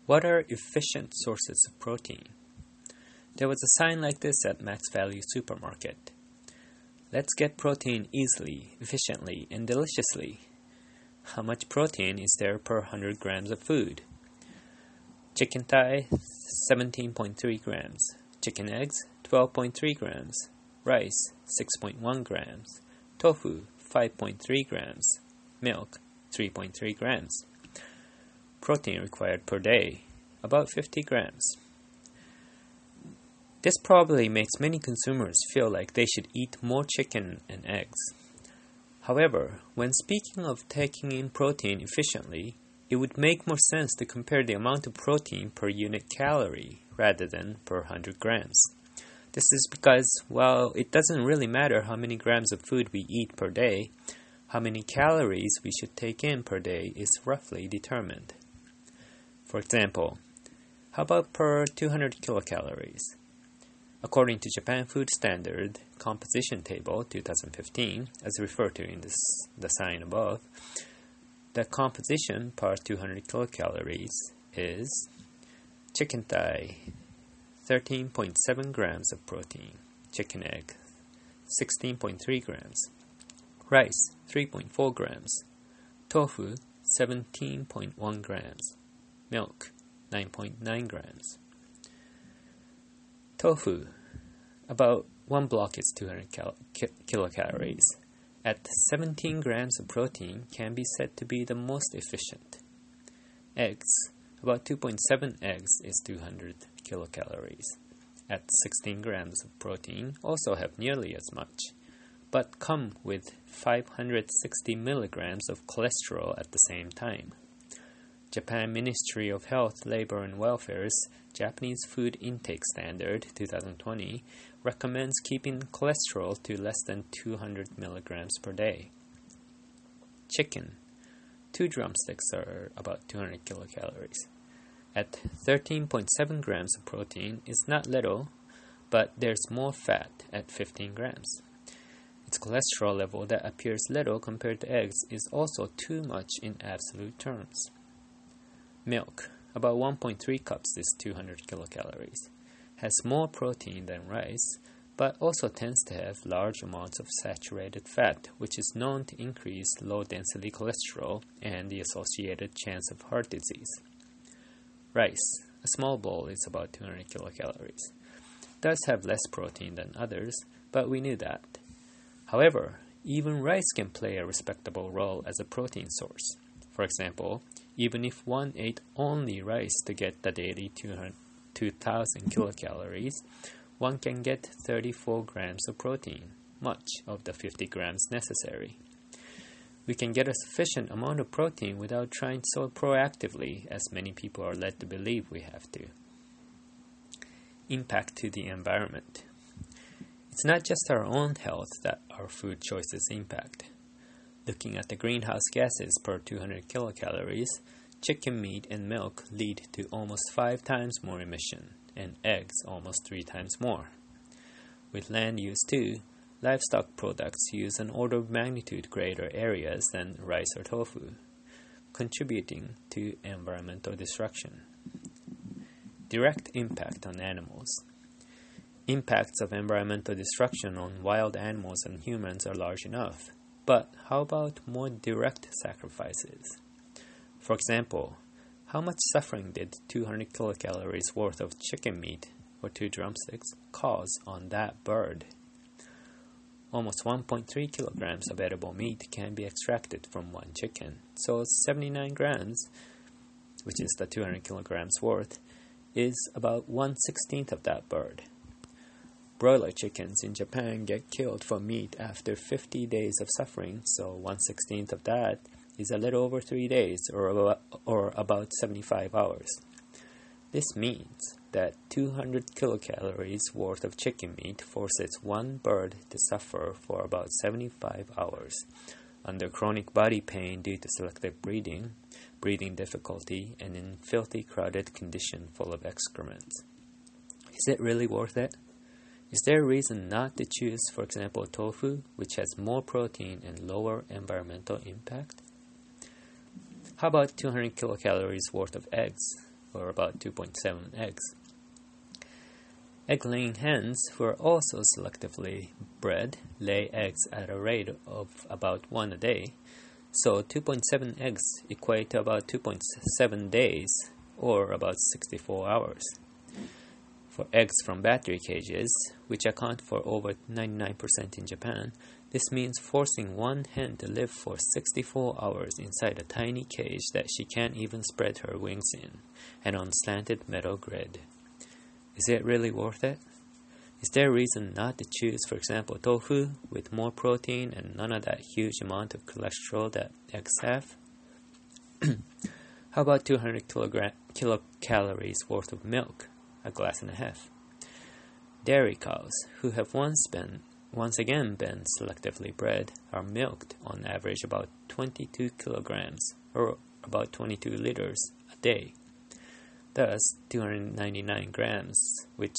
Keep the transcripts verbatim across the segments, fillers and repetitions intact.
What are efficient sources of protein? There was a sign like this at Max Value Supermarket. Let's get protein easily, efficiently, and deliciously. How much protein is there per one hundred grams of food? Chicken thigh, seventeen point three grams. Chicken eggs, twelve point three grams. Rice, six point one grams. Tofu, five point three grams. Milk, three point three grams. Protein required per day, about fifty grams. This probably makes many consumers feel like they should eat more chicken and eggs. However, when speaking of taking in protein efficiently, it would make more sense to compare the amount of protein per unit calorie rather than per one hundred grams. This is because, while it doesn't really matter how many grams of food we eat per day, how many calories we should take in per day is roughly determined. For example, how about per two hundred kilocalories? According to Japan Food Standard Composition Table twenty fifteen, as referred to in this, the sign above, the composition per two hundred kilocalories is chicken thigh, thirteen point seven grams of protein, chicken egg, sixteen point three grams, rice, three point four grams, tofu, seventeen point one grams, milk, nine point nine grams. Tofu, about one block is two hundred cal- ki- kilocalories. At seventeen grams of protein can be said to be the most efficient. Eggs, about two point seven eggs is two hundred kilocalories. At sixteen grams of protein also have nearly as much, but come with five hundred sixty milligrams of cholesterol at the same time. Japan Ministry of Health, Labor and Welfare's Japanese Food Intake Standard twenty twenty recommends keeping cholesterol to less than two hundred milligrams per day. Chicken. Two drumsticks are about two hundred kilocalories. At thirteen point seven grams of protein is not little, but there's more fat at fifteen grams. Its cholesterol level that appears little compared to eggs is also too much in absolute terms. Milk, about one point three cups is two hundred kilocalories, has more protein than rice, but also tends to have large amounts of saturated fat, which is known to increase low-density cholesterol and the associated chance of heart disease. Rice, a small bowl, is about two hundred kilocalories. Does have less protein than others, but we knew that. However, even rice can play a respectable role as a protein source. For example, even if one ate only rice to get the daily two thousand kilocalories, one can get thirty-four grams of protein, much of the fifty grams necessary. We can get a sufficient amount of protein without trying so proactively as many people are led to believe we have to. Impact to the environment. It's not just our own health that our food choices impact. Looking at the greenhouse gases per two hundred kilocalories, chicken meat and milk lead to almost five times more emission, and eggs almost three times more. With land use too, livestock products use an order of magnitude greater areas than rice or tofu, contributing to environmental destruction. Direct impact on animals. Impacts of environmental destruction on wild animals and humans are large enough. But how about more direct sacrifices? For example, how much suffering did two hundred kilocalories worth of chicken meat or two drumsticks cause on that bird? Almost one point three kilograms of edible meat can be extracted from one chicken, so seventy-nine grams, which is the two hundred kilograms worth, is about one sixteenth of that bird. Broiler chickens in Japan get killed for meat after fifty days of suffering, so one sixteenth of that is a little over three days, or about, or about seventy-five hours. This means that two hundred kilocalories worth of chicken meat forces one bird to suffer for about seventy-five hours under chronic body pain due to selective breeding, breathing difficulty, and in filthy crowded condition full of excrement. Is it really worth it? Is there a reason not to choose, for example, tofu, which has more protein and lower environmental impact? How about two hundred kilocalories worth of eggs? or about two point seven eggs. Egg-laying hens, who are also selectively bred, lay eggs at a rate of about one a day, so two point seven eggs equate to about two point seven days, or about sixty-four hours. For eggs from battery cages, which account for over ninety-nine percent in Japan, this means forcing one hen to live for sixty-four hours inside a tiny cage that she can't even spread her wings in, and on slanted metal grid. Is it really worth it? Is there a reason not to choose, for example, tofu with more protein and none of that huge amount of cholesterol that eggs have? How about two hundred kilogram- kilocalories worth of milk, a glass and a half? Dairy cows, who have once been, once again been selectively bred, are milked on average about twenty-two kilograms, or about twenty-two liters, a day. Thus, two hundred ninety-nine grams, which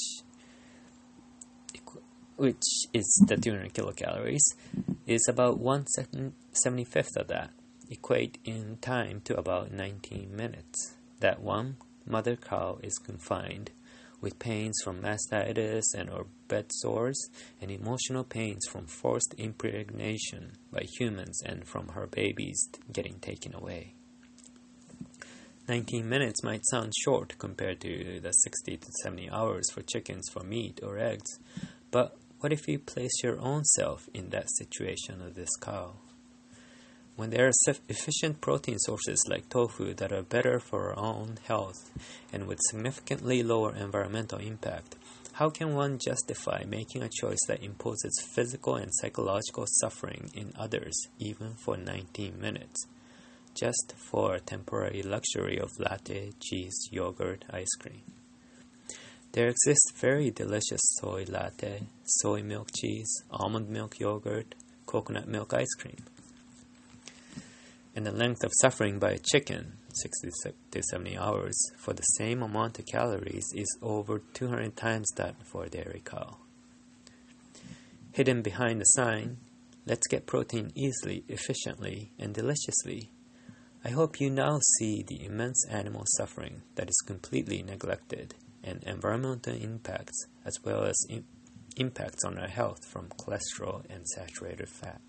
which is the two hundred kilocalories, is about one seventy-fifth of that, equate in time to about nineteen minutes. That one mother cow is confined, with pains from mastitis and or bed sores, and emotional pains from forced impregnation by humans and from her babies getting taken away. nineteen minutes might sound short compared to the sixty to seventy hours for chickens for meat or eggs, but what if you place your own self in that situation of this cow? When there are efficient protein sources like tofu that are better for our own health and with significantly lower environmental impact, how can one justify making a choice that imposes physical and psychological suffering in others even for nineteen minutes, just for a temporary luxury of latte, cheese, yogurt, ice cream? There exists very delicious soy latte, soy milk cheese, almond milk yogurt, coconut milk ice cream. And the length of suffering by a chicken, sixty to seventy hours, for the same amount of calories is over two hundred times that for a dairy cow. Hidden behind the sign, "Let's get protein easily, efficiently, and deliciously," I hope you now see the immense animal suffering that is completely neglected, and environmental impacts as well as im- impacts on our health from cholesterol and saturated fat.